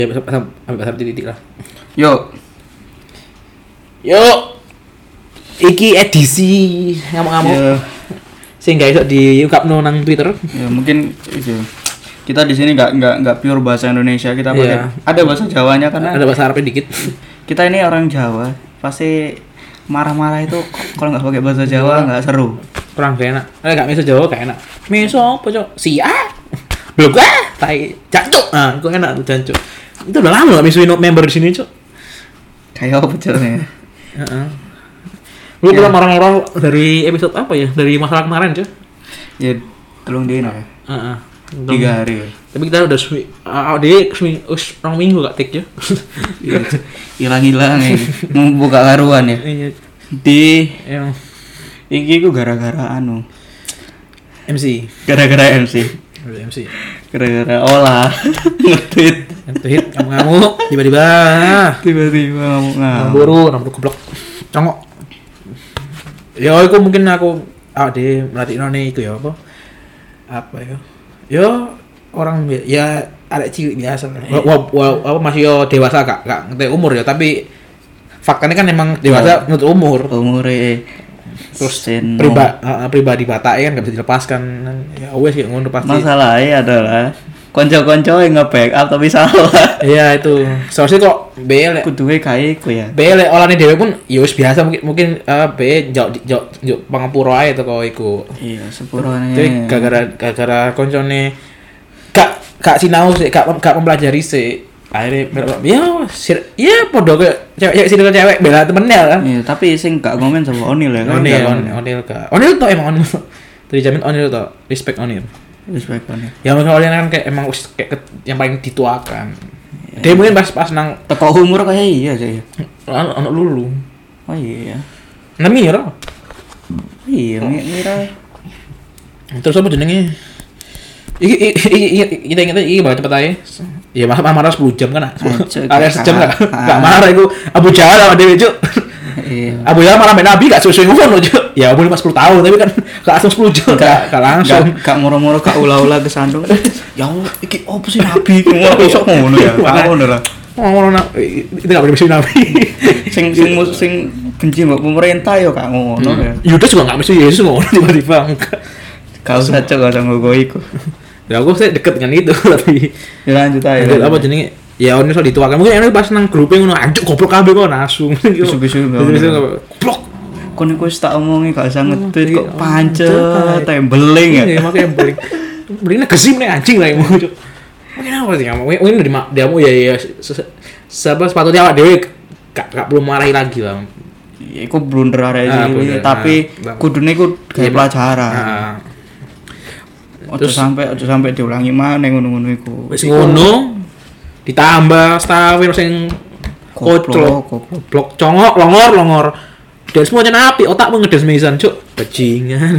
Ya sampai titik lah. Yuk. Iki edisi ngamuk-ngamuk. Ya, Sehingga iso diungkapno nang Twitter. ya mungkin itu. Kita di sini enggak pure bahasa Indonesia, kita pakai Iya. ada bahasa Jawanya karena Ada bahasa Arabnya dikit. kita ini orang Jawa, pasti marah-marah itu kalau nggak pakai bahasa Jawa nggak seru. Kurang gak enak. Gak miso Jawa gak enak. Miso apa, Cok? Sia. Belum tai jancuk. Nah, kok enak tuh jancuk. Itu udah lama gak misuin member di sini, Cok. Kayak apa caranya? Heeh. Lu pernah marah-marah dari episode apa ya? Dari masalah kemarin, Cok. Ya tolong dia ya. Heeh. 3 hari. Tapi kita udah orang minggu gak take ya. Hilang-hilang ya. Mau buka karuan ya. Iya. Di Yang iki ku gara-gara MC. Gara-gara MC. MC. Gara-gara olah nge-tweet Tweet ngamuk tiba-tiba. tiba-tiba ngamuk. Buru goblok. Congok. Ya aku mungkin aku di melatih none iku ya apa? Apa ya? Ya orang ya ada cilik biasa. Apa masih yo dewasa gak ngerti umur ya, tapi faktanya kan emang dewasa menurut Umure terus Seno. pribadi batak kan gak bisa dilepaskan. Ya wes ya ngono pasti. Masalahnya adalah konco-konco yang nge-backup tapi salah. Iya itu. Soalnya kok belek Kuduwe kae iku ya. Bele olahne dhewe pun ya wis biasa mungkin be jok pangapura ae teko iku. Iya, sepurane. Jadi gara-gara koncone gak sinau sih, gak mempelajari sih. Akhirnya ya padha kayak cewek bela temennya kan. Iya, tapi sing gak komen sama Onil ya kan. Onil tuh emang Onil. Terjamin Onil tuh, respect Onil. Respect Onil. Ya mungkin Onil kan kayak emang kayak yang paling dituakan. Dia mungkin pas nang Teko umur kayak iya sih. anak lulu. Oh iya. Namira. Iya, Mira. Terus apa jenenge? Kita ingat iki bakal cepet aja. Ya marah 10 jam kan. Ada sejam gak marah iku. Abu Jahal sama Dewi Cuk. Iya. Abu Jahal marah Nabi gak sesuai ngono Cuk. Ya boleh 10 tahun tapi kan gak langsung 10 jam. Gak langsung. Gak moro-moro gak ula-ula kesandung. Ya Allah, iki opo sih Nabi ngono kok ngono ya. Ngono lah. Ngono itu gak boleh mesti Nabi. Sing benci mbok pemerintah ya gak ngono ya. Yudas juga gak mesti Yesus ngono tiba-tiba. Gak usah cok, gak usah ngogo iku. Ya aku sih deket dengan itu tapi Ya lanjut aja. apa jenenge? Ya ono iso dituakan. Mungkin enak pas nang grupe ngono anjuk goblok kabeh kok nasu. Bisu-bisu goblok. Kon iku wis tak omongi gak usah nge-tweet kok pancet tembeling ya. Iya, makanya beling. Belingnya gesim nih anjing lah mau cuk. Mungkin apa sih kamu? Mungkin dari diamu ya sepatutnya awak dhewe gak perlu marahi lagi lah. Ya iku blunder arek iki, tapi kudune iku gawe pelajaran. Ojo sampai diulangi maneh ngono-ngono iku. Wis ngono ditambah stawir sing kocok, goblok, congok, longor. Dan semuanya api, otakmu ngedes mesan, cuk. Bajingan.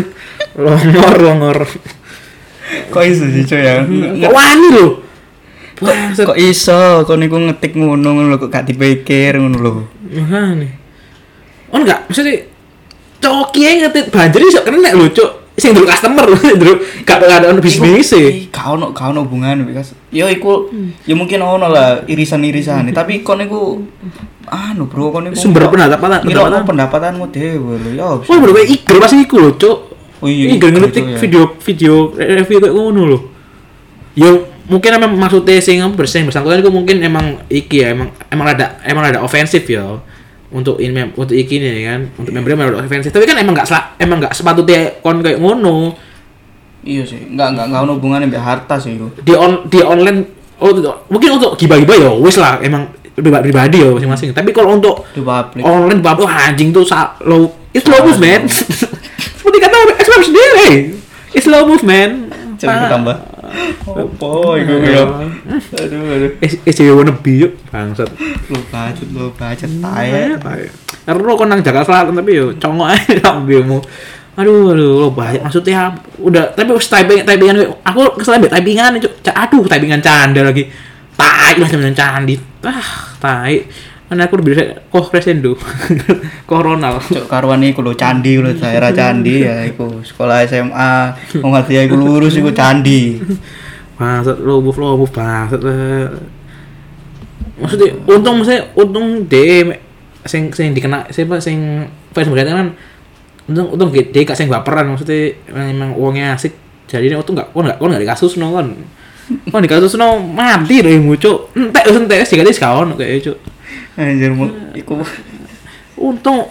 Longor. Kok iso sih cuy ya? Kok wani lho. Kok iso kon niku ngetik ngono lho kok gak dipikir ngono lho. Makane. On enggak, maksudnya coki ngetik banjir iso kena lho, cuk. Sing dulu customer lho, dulu gak ada bisnis e. Gak ono hubungan because yo iku ya mungkin ono lah irisan-irisan tapi kon niku bro kon niku sumber pendapatanmu dhewe lho ya. Oh, bro, iger pas iku lho, cuk. Oh iya, iger ngetik video review kayak ngono lho. Yo mungkin emang maksudnya sing bersangkutan iku mungkin emang iki ya, emang ada ofensif ya. Untuk iki nih kan, untuk membernya ofensif. Tapi kan emang enggak sepatutnya kon kayak ngono. Iya sih, enggak ono hubungannya mbek harta sih itu. Di online mungkin untuk gibah-gibah ya wis lah emang pribadi ya masing-masing. Tapi kalau untuk di publik online anjing tuh it's slow movement. Seperti kata expert sendiri. It's slow movement. Coba tambah. Opo iku ya. Aduh. SJW wannabe yuk bangsat. Lu bacet tae. Ero kon nang Jakarta Selatan tapi yo congok ae ambilmu. Aduh lo banyak maksudnya udah tapi wis typingan aku kesel mbek typingan cuk. Aduh typingan canda lagi. Tai lah temen candi. Tai. Ana aku bisa crescendo. Koronal. Cuk karuan iku lho candi lho daerah candi ya iku sekolah SMA. Wong ati iku lurus iku candi. Bangsat lo move banget. Maksudnya untung deh sing dikena siapa sing fans berarti kan untung dia gak sing baperan, maksudnya memang uangnya asik. Jadi ini untung gak dikasusno kan. Kon dikasusno mati deh mucuk. Entek sih gadis kawan kayak cuk. Anjir iku Untung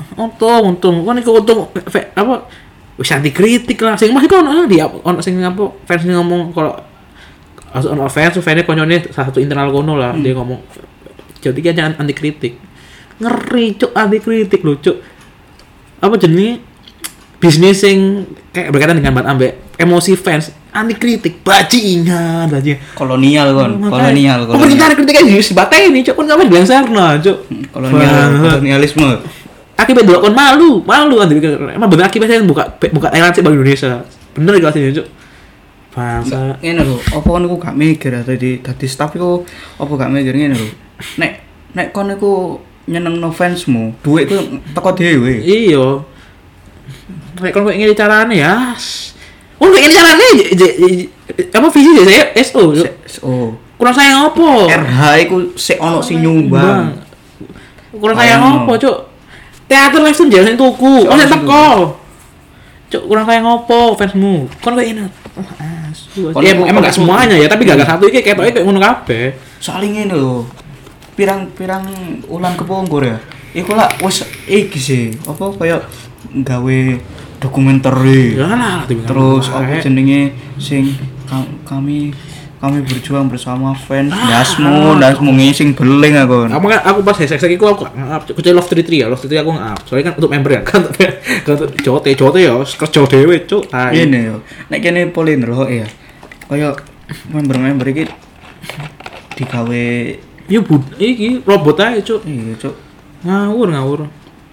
kan iku untung apa wis anti kritik lah. Sing masih ono dia ono sing apa fans ngomong kalau ono fans koncone salah satu internal kono lah dia ngomong jadi kan jangan anti kritik. Ngeri cuk anti kritik lho cuk. Apa jenenge bisnis sing kayak berkaitan dengan ambek emosi fans anti kritik bajingan aja kolonial. Pemerintah kritiknya harus dibateni cuk kan ngapain bilang sarna cuk kolonialisme akibat dua kon malu anti emang bener akibatnya buka Thailand sih bagi Indonesia bener gak sih cuk bangsa ngene lho apa kon iku gak mikir dadi staff iku apa gak mikir ngene lho nek kon iku nyenengno fansmu duit ku teko dhewe iya nek kon koyo ngene carane ya kayak gini caranya apa visi saya SO kurang sayang apa RH itu ono sing nyumbang kurang sayang apa cuk teater live stream jangan tuku kok teko cuk kurang sayang apa fansmu kon kayak ini emang gak semuanya ya tapi gak satu iki kayak ngono kabeh soalnya ngene lho pirang ulang kepungkur ya iku lah wis iki sih apa kayak gawe dokumenter terus apa jenenge sing kami berjuang bersama fans dasmu ngising beling aku pas hashtag iku aku Love 33 ya Love 33 aku nge-up soalnya kan untuk member ya kan jote ya kerja dhewe cuk ngene yo nek kene Polindro ya kaya member iki digawe yo iki robot ae cuk iya cuk ngawur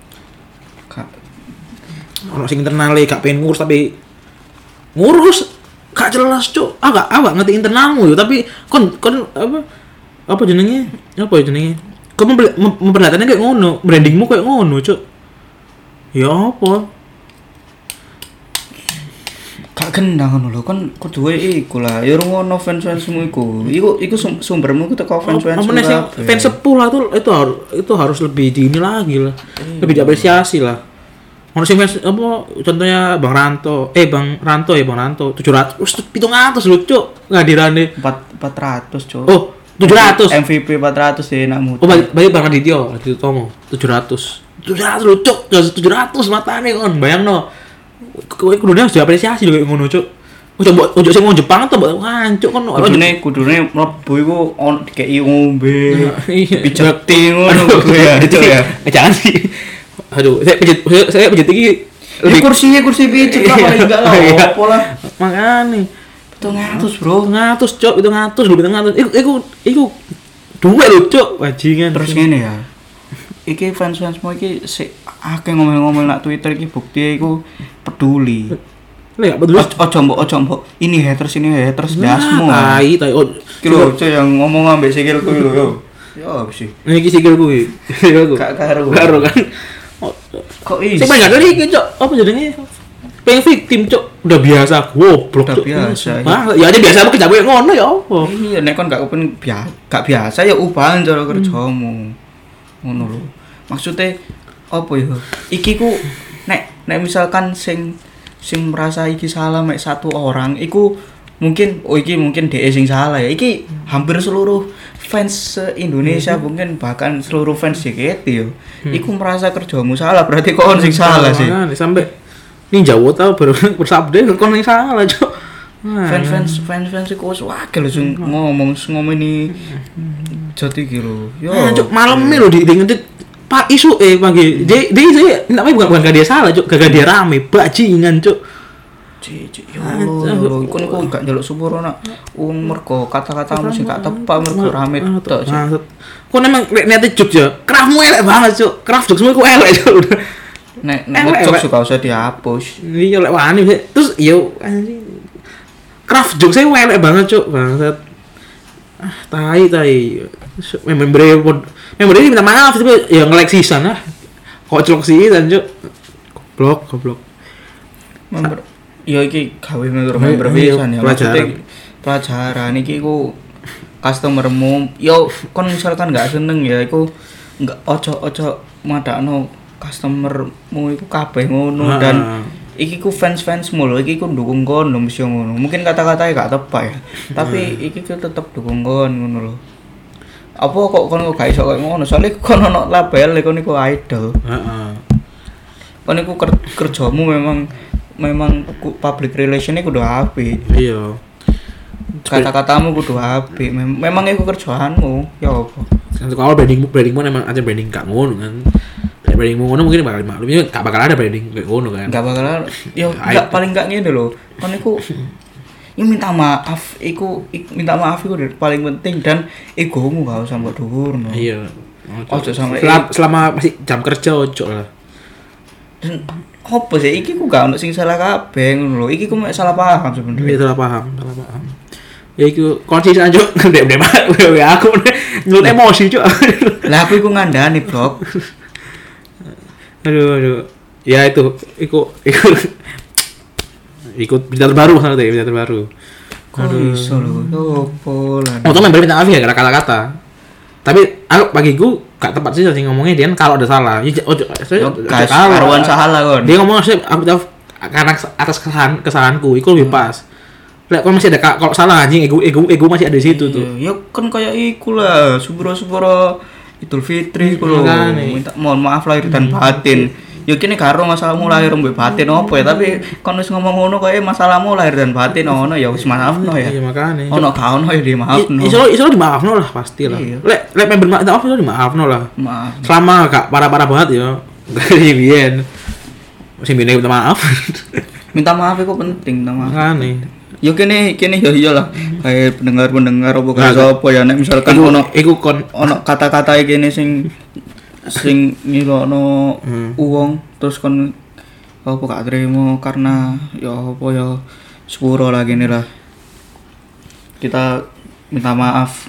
ono sing internale gak pengen ngurus tapi ngurus gak jelas cuk agak ngerti internalmu yo tapi kon apa jenenge kok memperlihatkannya kayak ngono brandingmu kayak ngono cuk ya apa gak gendang ngono lho kon kudu iku lah ya ngono fans-fansmu iku sumbermu ku teko fans-fansmu fans sepuh lah itu harus lebih dini lagi lah lebih diapresiasi lah. Ono sing apa contohnya Bang Ranto 700 lho cuk ngadirane 400 cuk. Oh 700 MVP 400 ya nakmu. Oh bagi Bang Adityo Tomo 700 lho cuk 700 matane kon bayangno kowe kudune harus diapresiasi lho ngono cuk. Ojo sing wong Jepang to mbok hancuk kon kudune mlebu iku on dikeki ngombe pijeti ngono kuwi ya. Jangan sih. Aduh, saya pijit iki kursi pijit apa enggak lah apa lah. Makane 700, Bro. 700, Cuk. 700. Iku duwe lho, Cuk. Bajingan. Terus ngene ya. Iki fans-fansmu iki sik akeh ngomel-ngomel nak Twitter iki bukti iku peduli. Lah, peduli. Ojo mbok ini haters dasmu. Tai. Iki lho, Cuk yang ngomong ambek sikilku lho yo. Yo sih. Iki sikilku iki. Gak karo kan. Kok iki? Sing banyak dari iki, Cuk. Apa jenenge? Pengen victim, Cuk. Udah biasa goblok, Cuk. Biasa. Ya aja biasa apa kejawe ngono ya apa? Iya, nek kon gak biasa ya ubahan cara kerjamu. Ngono lho. Maksudnya apa ya? Iki ku nek misalkan sing merasa iki salah mek satu orang, iku mungkin DE sing salah ya. Iki hampir seluruh fans Indonesia mungkin bahkan seluruh fans JKT yo. Iku merasa kerjamu salah, berarti kon sing salah sih. Sampai Ninja Wota bersabda kon sing salah, Cuk. Fans iku wis wakil sing ngomongin jati iki lho. Yo. Cuk, malam lho diingetin Pak isu pagi. Dia namanya bukan gak dia salah, Cuk. Gak dia rame, bajingan, Cuk. Yo lho, iku gak njaluk sepuro nak wong mergo kata-katamu sing gak tepat mergo rame tok. Kok memang niate juk ya. Craftmu elek banget, Cuk. Craft juk semua iku elek, Cuk. Nek juk suka usah dihapus. Iya lek wani. Terus yo anjing. Craft juk saya elek banget, Cuk. Bangsat. Tai. Member minta maaf tapi ya nge-like season lah. Kocok sih dan Cuk. Goblok. Member ya iki gawe member pisan ya. Maksudnya pelajaran iki ku customermu yo kon misalkan nggak seneng ya iku nggak ojo madakno customermu iku kabeh ngono dan iki ku fans-fansmu lho iki ku ndukung kon lho mesti ngono mungkin kata-katanya gak tepat ya tapi iki ku tetep dukung kon ngono lho apa kok kon gak iso koyo ngono soalnya kon ono label kon iku idol kon iku kerjamu memang public relation kudu apik iya kata-katamu kudu apik memang iku kerjaanmu ya apa kalau brandingmu emang aja branding gak ngono kan brandingmu ngono mungkin bakal maklum ini gak bakal ada branding kayak ngono kan gak bakal ya gak paling gak ngene lho kan iku ya minta maaf minta maaf iku paling penting dan egomu gak usah mbok dhuwurno iya ojo sampe selama masih jam kerja ojo lah dan opo sih iki ku gak ono sing salah kabeh ngono lho iki ku mek salah paham sebenarnya iya salah paham ya iku konsisten aja ndek aku nyulut emosi cuk lah aku iku ngandani blok aduh ya itu ikut berita terbaru kok iso lho opo lah tuh member minta maaf ya gara kata-kata tapi aku bagiku gak tepat sih ngomongnya dia kalau ada salah karuan salah kon dia ngomong sih aku tahu karena atas kesalahanku itu lebih pas lek kon masih ada kalau salah anjing ego masih ada di situ tuh ya kan kayak iku lah subro Idul Fitri ku lho minta mohon maaf lahir dan batin ya kene karo masalahmu lahir mbek batin opo ya tapi kon wis ngomong ngono koyo masalahmu lahir dan batin ono ya wis maafno ya iya makane ono gak ono ya dimaafno iso dimaafno lah pasti lah lek member maaf iso dimaafno lah maaf selama gak parah-parah banget ya dari biyen sing bine minta maaf minta maaf iku penting minta maaf makane yo kene ya iyalah kayak pendengar opo gak apa ya nek misalkan iku kon ono kata-kata kene sing ngilono uang terus kon apa gak terima karena ya apa ya sepuro lah gini lah kita minta maaf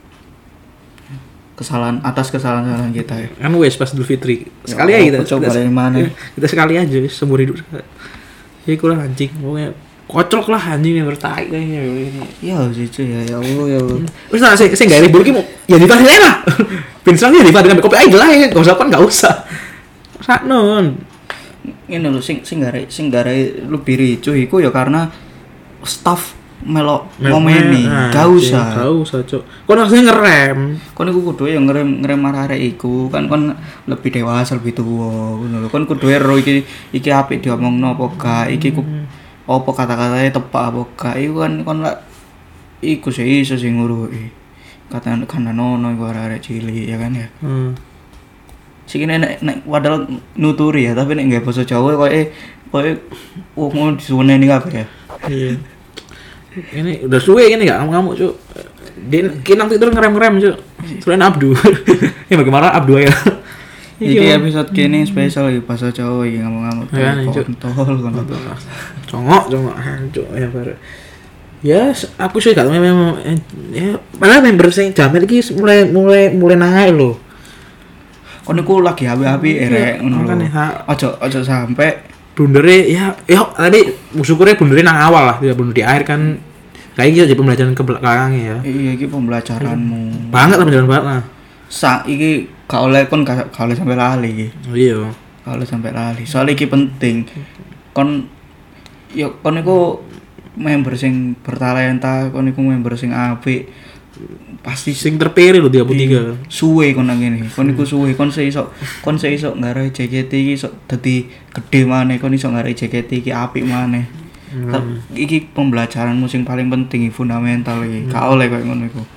atas kesalahan kita ya kan wes pas Idul Fitri sekali aja kita sekali aja seumur hidup ya iku lah anjing pokoknya kocok lah anjing yang bertai kayaknya ya sih ya Allah ya wis nah saya gak ribut ki ya ditarik lah pinsangnya ditarik dengan kopi aja lah ya gak usah kan gak usah saknon ini lho sing gare lebih ricuh iku ya karena staff melok ngomeni gak usah cuk kon harusnya ngerem kon iku kudu ya ngerem arek iku kan kon lebih dewasa lebih tua ngono lho kon kudu ero iki apik diomongno apa gak iki apa kata-katanya tepat apa gak iku kan kon lak iku sih iso sing nguruki kata kan nono iku arek cilik ya kan ya sing nek padahal nuturi ya tapi nek nggawe basa Jawa koyo wong disuwene kabeh ya iya ini udah suwe ini gak ngamuk cuk dia kinang tidur ngerem cuk selain Abdu ya bagaimana Abdu ya iki episode kene spesial iki bahasa Jawa iki ngomong-ngomong kontol congok hancur ya baru ya aku sih gak memang ya malah member sing jamet iki mulai naik lho kon niku lagi api-api erek ngono lho ojo sampai blundere ya tadi syukurnya blundere nang awal lah tidak blunder di akhir kan kayak gitu jadi pembelajaran ke belakangnya ya iya iki pembelajaranmu banget lah pembelajaran banget lah iki gak oleh kon gak oleh sampai lali iki iya gak oleh sampai lali soalnya iki penting kon iku member sing bertalenta kon iku member sing apik pasti sing terpilih lho 33 suwe kon nang kene kon iku suwe kon iso nggarai JKT iki iso dadi gedhe maneh kon iso nggarai JKT iki apik maneh iki pembelajaranmu sing paling penting fundamental iki gak oleh koyo ngono iku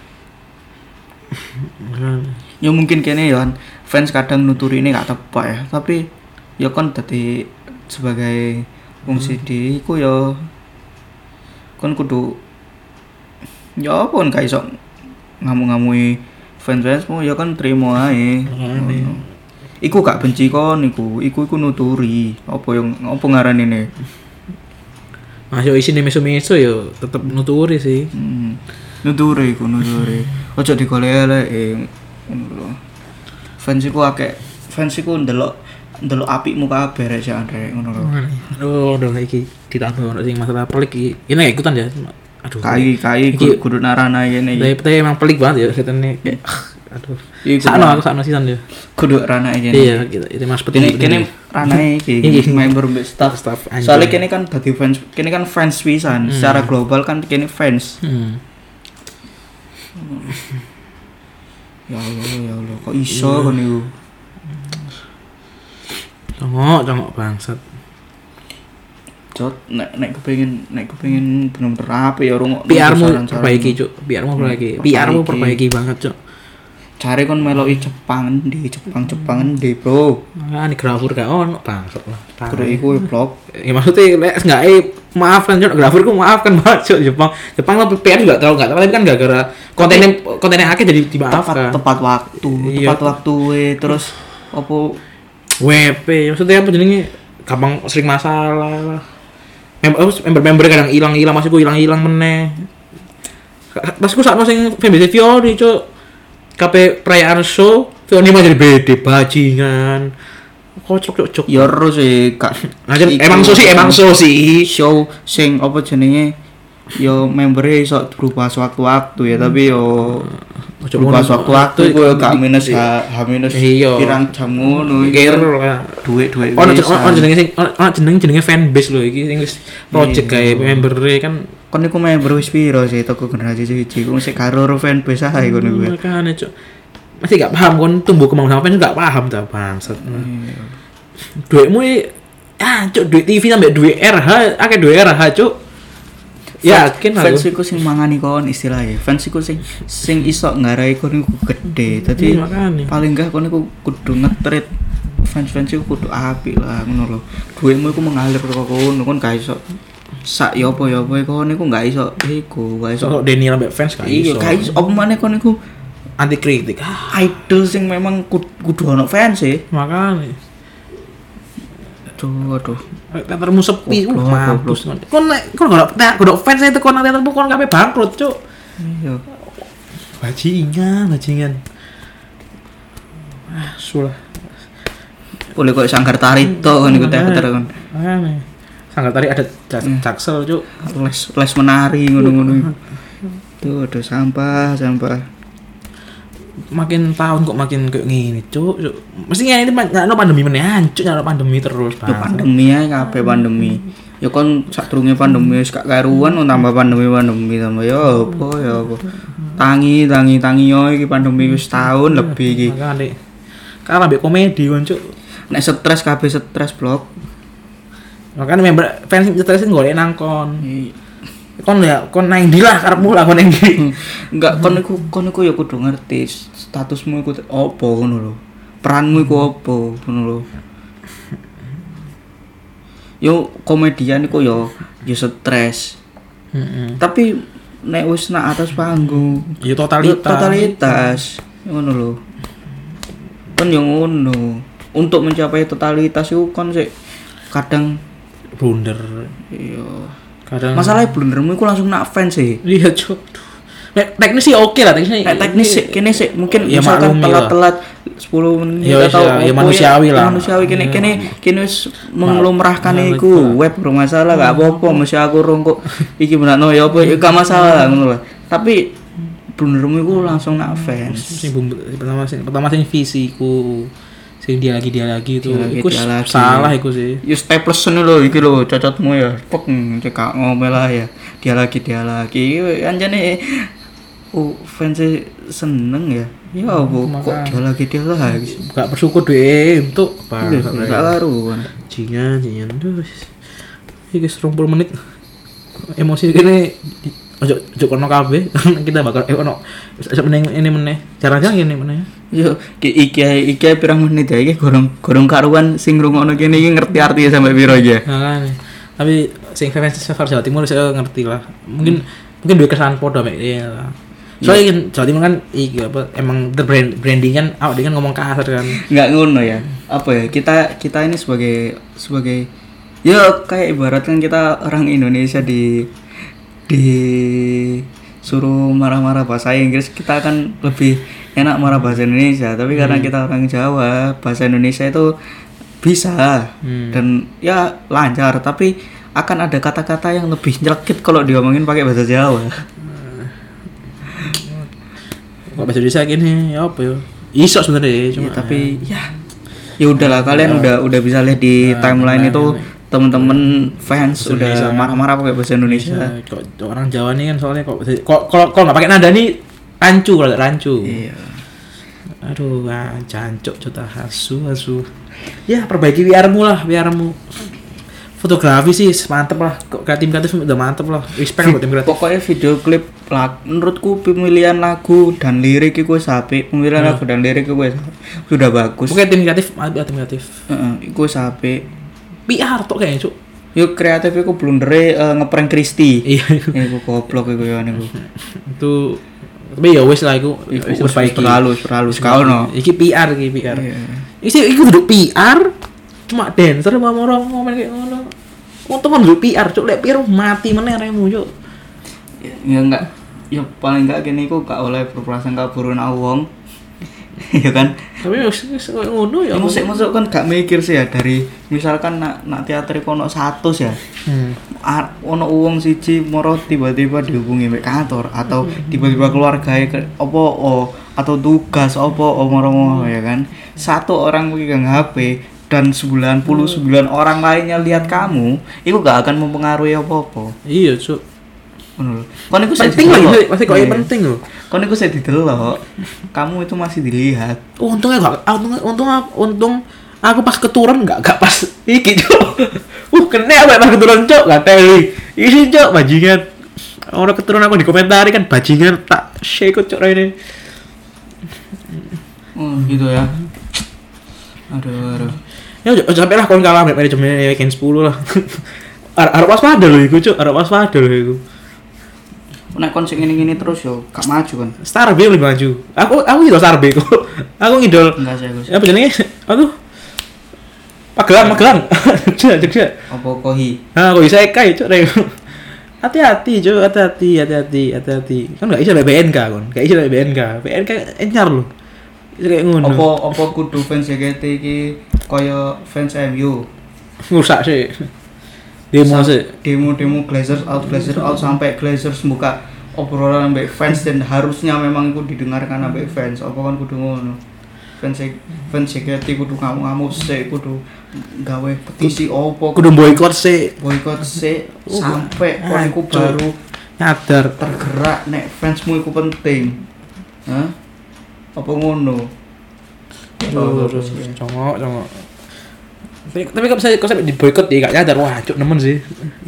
ya mungkin kene ya fans kadang nuturi ini gak tepat ya tapi ya kon dadi sebagai wong CD iku ya kon kudu ya apa kon gak iso ngamu-ngamui fans-fansmu ya kan terima ae iku gak benci kon iku nuturi apa ngarani ne masuk isi meso-meso ya tetep nuturi sih nuturi ojo digolek fans iku ndelok apikmu kabeh rek sak rek ngono lho aduh iki ditambah ono sing masalah pelik iki ini gak ikutan ya Aduh. Kai kudu narana ngene iki. Tapi emang pelik banget ya setene. Aduh. Iku Sakno sisan dia. kudu rana ngene. Iya, gitu. Itu Mas Kene ranae iki member staff. anjing. Soalnya kene kan dadi fans, kene kan fans pisan. Secara global kan kene fans. Ya Allah, kok iso kon niku. Congok bangsat. Jot nek kepengin bener-bener apik ya rungokno PR-mu saran-saran. perbaiki, Cuk. PR-mu perbaiki banget, Cuk. Cari kon meloki Jepang ndi, Bro. Makane grafur gak ono bangsat lah. Kudu iku vlog. Ya maksudnya lek enggak maafkan Cuk, grafurku maafkan banget Cuk. Jepang lo PR juga terlalu enggak, tapi kan gara-gara kontennya akeh jadi dimaafkan. Tepat waktu terus opo WP maksudnya apa jenenge gampang sering masalah lah. Member kadang hilang masih hilang meneh. Pas ku sakno sing fanbase Fiori Cuk. KP perayaan show Fiori mah jadi beda bajingan. Kocok Cuk. Ya ero sih Kak. Emang so sih. Show sing apa jenenge yo membernya iso berubah sewaktu-waktu ya, tapi yo berubah sewaktu-waktu iku yo gak minus pirang jam ngono iki. Duit jenenge fanbase lho iki sing wis project gawe member-e kan. Kon niku member wis piro sih toko generasi 1 ku sik karo fanbase ae kon niku. Makane Cuk. Masih gak paham kon tumbuh kembang sama fans gak paham ta bangsat. Duitmu Cuk, duit TV sampe duit RH, akeh duit RH Cuk. Yakin aku. Fans iku sing mangani kon istilahnya. Fans iku sing iso ngarai kon iku gede. Dadi paling enggak kon iku kudu ngetrit fans iku kudu apik lah ngono lho. Duitmu iku mengalir kok kono kon gak iso sak yo apa kon iku gak iso gak iso. Kok Deni ambek fans gak iso. Iya, gak iso apa maneh kon iku anti kritik. Idol sing memang kudu ono fans e. Makane. Aduh. Teatermu sepi mampus. Kon gak fans itu kon teatermu kon kabeh bangkrut, Cuk. Iya. Bajingan. Sulah. Boleh kok sanggar tari tok kan iku teater kon. Makane. Sanggar tari ada jaksel, Cuk. Les menari ngono-ngono. Tuh ada sampah. Makin tahun kok makin kayak gini, Cuk. Mesti ngene iki nyano pandemi meneh, hancur nyano pandemi terus, Bang. Pandemi ae kabeh pandemi. Ya kon sadurunge pandemi wis gak karuan tambah pandemi tambah ya apa. Tangi yo iki pandemi wis tahun lebih iki. Makane. Kalah mbek komedi kon, Cuk. Nek stres kabeh stres blok. Makane member fans stres golek nang kon. Kon nang ndi lah karepmu lah kon nang ndi. Enggak kon iku ya kudu ngerti statusmu iku opo ngono lho. Peranmu iku opo ngono lho. Yo komedian iku yo stres. Tapi nek wis nak atas panggung, yo totalitas. Ngono lho. Kon yo ngono. Untuk mencapai totalitas iku kon sik kadang blunder. Iya. Masalahnya blundermu iku langsung nak fans sih. Iya, Cuk. Nek teknis sih oke lah, teknis sih kene sih mungkin ya, misalkan telat 10 menit atau ya manusiawi lah. Manusiawi kene wis menglumrahkan iku web bermasalah gak apa-apa mesti aku rong kok iki benakno ya apa ya gak masalah ngono lah. Tapi blundermu iku langsung nak fans. Pertama sing visiku. Sing dia lagi itu iku salah iku sih. Ya staples lho iki lho cocotmu ya. Pek cekak ngomel lah ya. Dia lagi anjane fans seneng ya. Ya apa kok dia lagi gak bersyukur deh untuk gak karuan. Jingan terus. Iki 30 menit. Emosi kene ojo kono kabeh kita bakal ono ini meneh. Jarang-jarang ngene meneh. Yo iki pirang menit ya iki gorong karuan sing ngrungokno kene iki ngerti artinya sampai piro ya. Makane. Tapi sing fans Jawa Timur saya ngerti lah. Mungkin duwe kesan padha mek ya. Soalnya Jawa Timur kan iki apa emang branding kan awak dengan ngomong kasar kan. Enggak ngono ya. Apa ya? Kita ini sebagai ya kayak ibaratkan kita orang Indonesia suruh marah-marah bahasa Inggris, kita akan lebih enak marah bahasa Indonesia. Tapi karena kita orang Jawa, bahasa Indonesia itu bisa dan ya lancar. Tapi akan ada kata-kata yang lebih nyelekit kalau diomongin pakai bahasa Jawa. Kok bahasa Indonesia gini ya apa ya? Iso sebenarnya cuma Ya, tapi ya udahlah kalian udah bisa lihat di timeline itu teman-teman fans Indonesia. udah marah-marah pakai bahasa Indonesia. Kok orang Jawa nih kan soalnya kok kalau nggak pakai nada nih rancu. Iya. Aduh, jancuk cota asu. Ya perbaiki VR-mu lah, VR-mu. Fotografi sih mantep lah. Kok tim kreatif udah mantep lah. Respect buat tim kreatif. Pokoknya video klip menurutku pemilihan lagu dan lirik itu sapi. Pemilihan lagu dan lirik itu sudah bagus. Oke, tim kreatif, tim kreatif. Iku sapi. PR tuh kayaknya, Cuk. Yuk kreatif iku blundere ngeprank Kristi. Iya. Iku goblok iku ya niku. Itu tapi ya wis lah iku Perbaiki. Terlalu sekali no. Iki PR. Iya. Iku duduk PR cuma dancer sama orang ngomong kayak ngono. Untung kan duduk PR, Cuk. Lek PR mati meneh remu, Cuk. Ya enggak. Ya paling enggak gini iku gak oleh berprasangka buruk nang wong. Ya kan. Tapi wis ngono ya. Musik kan gak mikir sih ya dari misalkan nak teater iku ono 100 ya. Ono wong siji moro tiba-tiba dihubungi mek kantor atau tiba-tiba keluargae atau tugas moro ya kan. Satu orang megang HP dan 99 orang lainnya lihat kamu, itu gak akan mempengaruhi apa-apa. Iya, Cuk. Ngono lho. Kon iku Penting lah, pasti kok penting loh. Kon iku saya didelok. Kamu itu masih dilihat. Untungnya gak, untung aku pas keturun gak pas iki, Cuk. Kena apa pas keturun, Cuk, gak teli. Isi, Cuk, bajingan. Orang keturun aku di komentari kan bajingan tak share kok, Cuk, ini. Gitu ya. Aduh. Ya sampai lah kon kalah manajemen weekend 10 lah. Arep waspada lho iku, Cuk. Arep waspada lho iku. Nek kon sing ngene-ngene terus yo gak maju kan. Starbe lebih maju. Aku ngidol Starbe kok. Aku ngidol. Enggak sih, Gus. Apa jenenge? Aduh. Magelang. Jogja. Apa kohi? Nah, kok bisa kai, Cuk. Hati-hati, Cuk. Hati-hati. Kan enggak iso BNK kon. Enggak iso BNK. BNK enyar lho. Kayak ngono. Apa kudu fans JKT iki kaya fans MU? Ngusak sih. Demo sih. Demo Glazers out sampai Glazers buka obrolan ambek fans dan harusnya memang itu didengarkan ambek fans. Apa kan kudu ngono? Fans JKT kudu ngamuk sih, kudu gawe petisi opo. Kudu boikot sih. Sampai kon iku baru nyadar tergerak nek fansmu iku penting. Hah? Apa ngono? Congok. Tapi kok sampai di boikot dia gak nyadar. Wah, Cuk, nemen sih.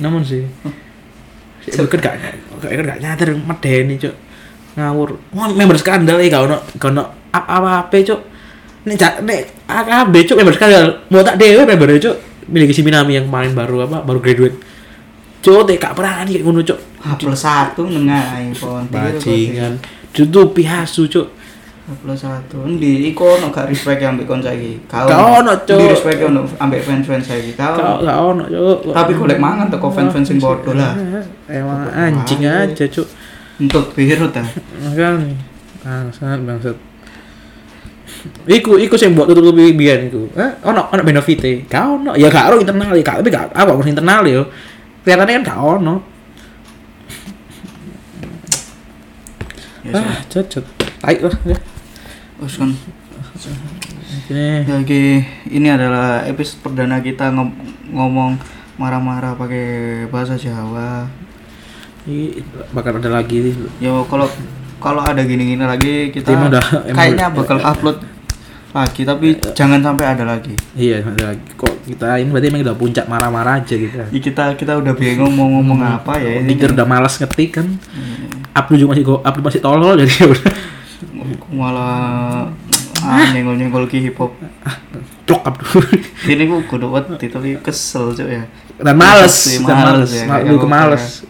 Boikot gak nyadar medeni, Cuk. Ngawur. Wah, member skandal iki gak ono apa-apa, Cuk. Nek AKB, Cuk, member skandal. Mau tak dhewe member, Cuk. Miliki si Minami yang kemarin baru graduate. Cuk, gak pernah kayak ngono, Cuk. H+1 nengah iPhone. Bajingan. Ditutupi asu, Cuk. H+1 endi iku ono gak respect ambek kon saiki? Gak ono, Cuk. Di respect ono ambek fans-fans saiki. Gak ono, Cuk. Tapi golek mangan teko fans-fans sing bodoh lah. Emang anjing aja, Cuk. Untuk biru ta. Kan bangsat. Iku sing mbok tutupi biyen iku. Ono benefite. Gak ono. Ya gak ono internal, tapi gak apa internal yo. Kelihatannya kan gak ono. Cocok. Baik lah ya. Terus kan Ini ini adalah episode perdana kita ngomong marah-marah pakai bahasa Jawa. bakal ada lagi. Ya kalau ada gini-gini lagi kita udah, kayaknya bakal upload lagi, tapi jangan sampai ada lagi. Iya, ada lagi. Kok kita ini berarti emang udah puncak marah-marah aja kita. Kita udah bingung mau ngomong apa ya. Ini udah malas ngetik kan. Upload masih tolol jadi udah. Malah nyenggol ki hip hop. Blok up dulu. Ini gua kudu wedi tapi kesel cuk ya. Dan males ya. Gue males.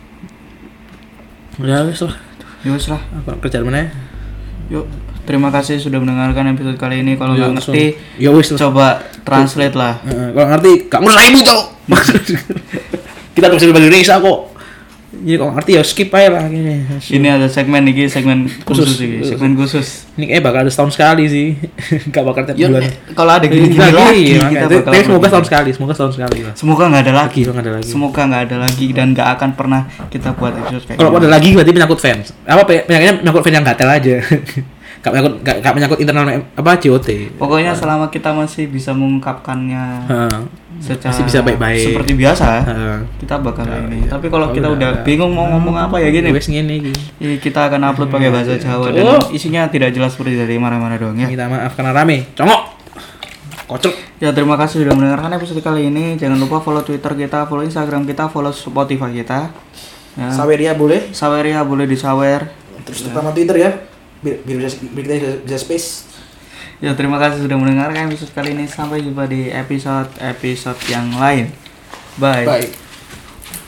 Ya wis lah. Apa kerjaan mana? Yuk, terima kasih sudah mendengarkan episode kali ini. Kalau nggak ngerti, ya wis coba translate lah. Kalau ngerti, gak ngurus ibu cok. Kita terus bahasa Indonesia kok. Jadi kalau ngerti ya skip aja lah gini. Ini ada segmen khusus ini, segmen khusus. Ini kayak bakal ada setahun sekali sih. Enggak bakal tiap Ya, bulan. kalau ada gini-gini lagi kita bakal Tapi semoga upload. semoga setahun sekali lah. Semoga nggak ada lagi. Semoga nggak ada lagi. Semoga nggak ada lagi dan nggak akan pernah kita buat episode kayak Kalau gini. ada lagi berarti penyangkut fans. Apa penyakitnya menyangkut fans yang gatel aja. Gak menyangkut internal apa COT. Pokoknya selama kita masih bisa mengungkapkannya Heeh. secara Masih bisa baik-baik. seperti biasa, Heeh. kita bakal ini. iya. Tapi kalau Oh, kita udah udah. bingung mau ngomong apa ya gini, Wes ngene iki. kita akan upload pakai bahasa Jawa dan Oh. isinya tidak jelas seperti dari mana-mana doang ya. Minta maaf karena rame. Congok. Kocok. Ya terima kasih sudah mendengarkan episode kali ini. Jangan lupa follow Twitter kita, follow Instagram kita, follow Spotify kita. Ya. Saweria boleh. Saweria boleh disawer. Terus terutama Twitter ya. Biar kita bisa space. Ya terima kasih sudah mendengarkan episode kali ini. Sampai jumpa di episode yang lain. Bye. Bye.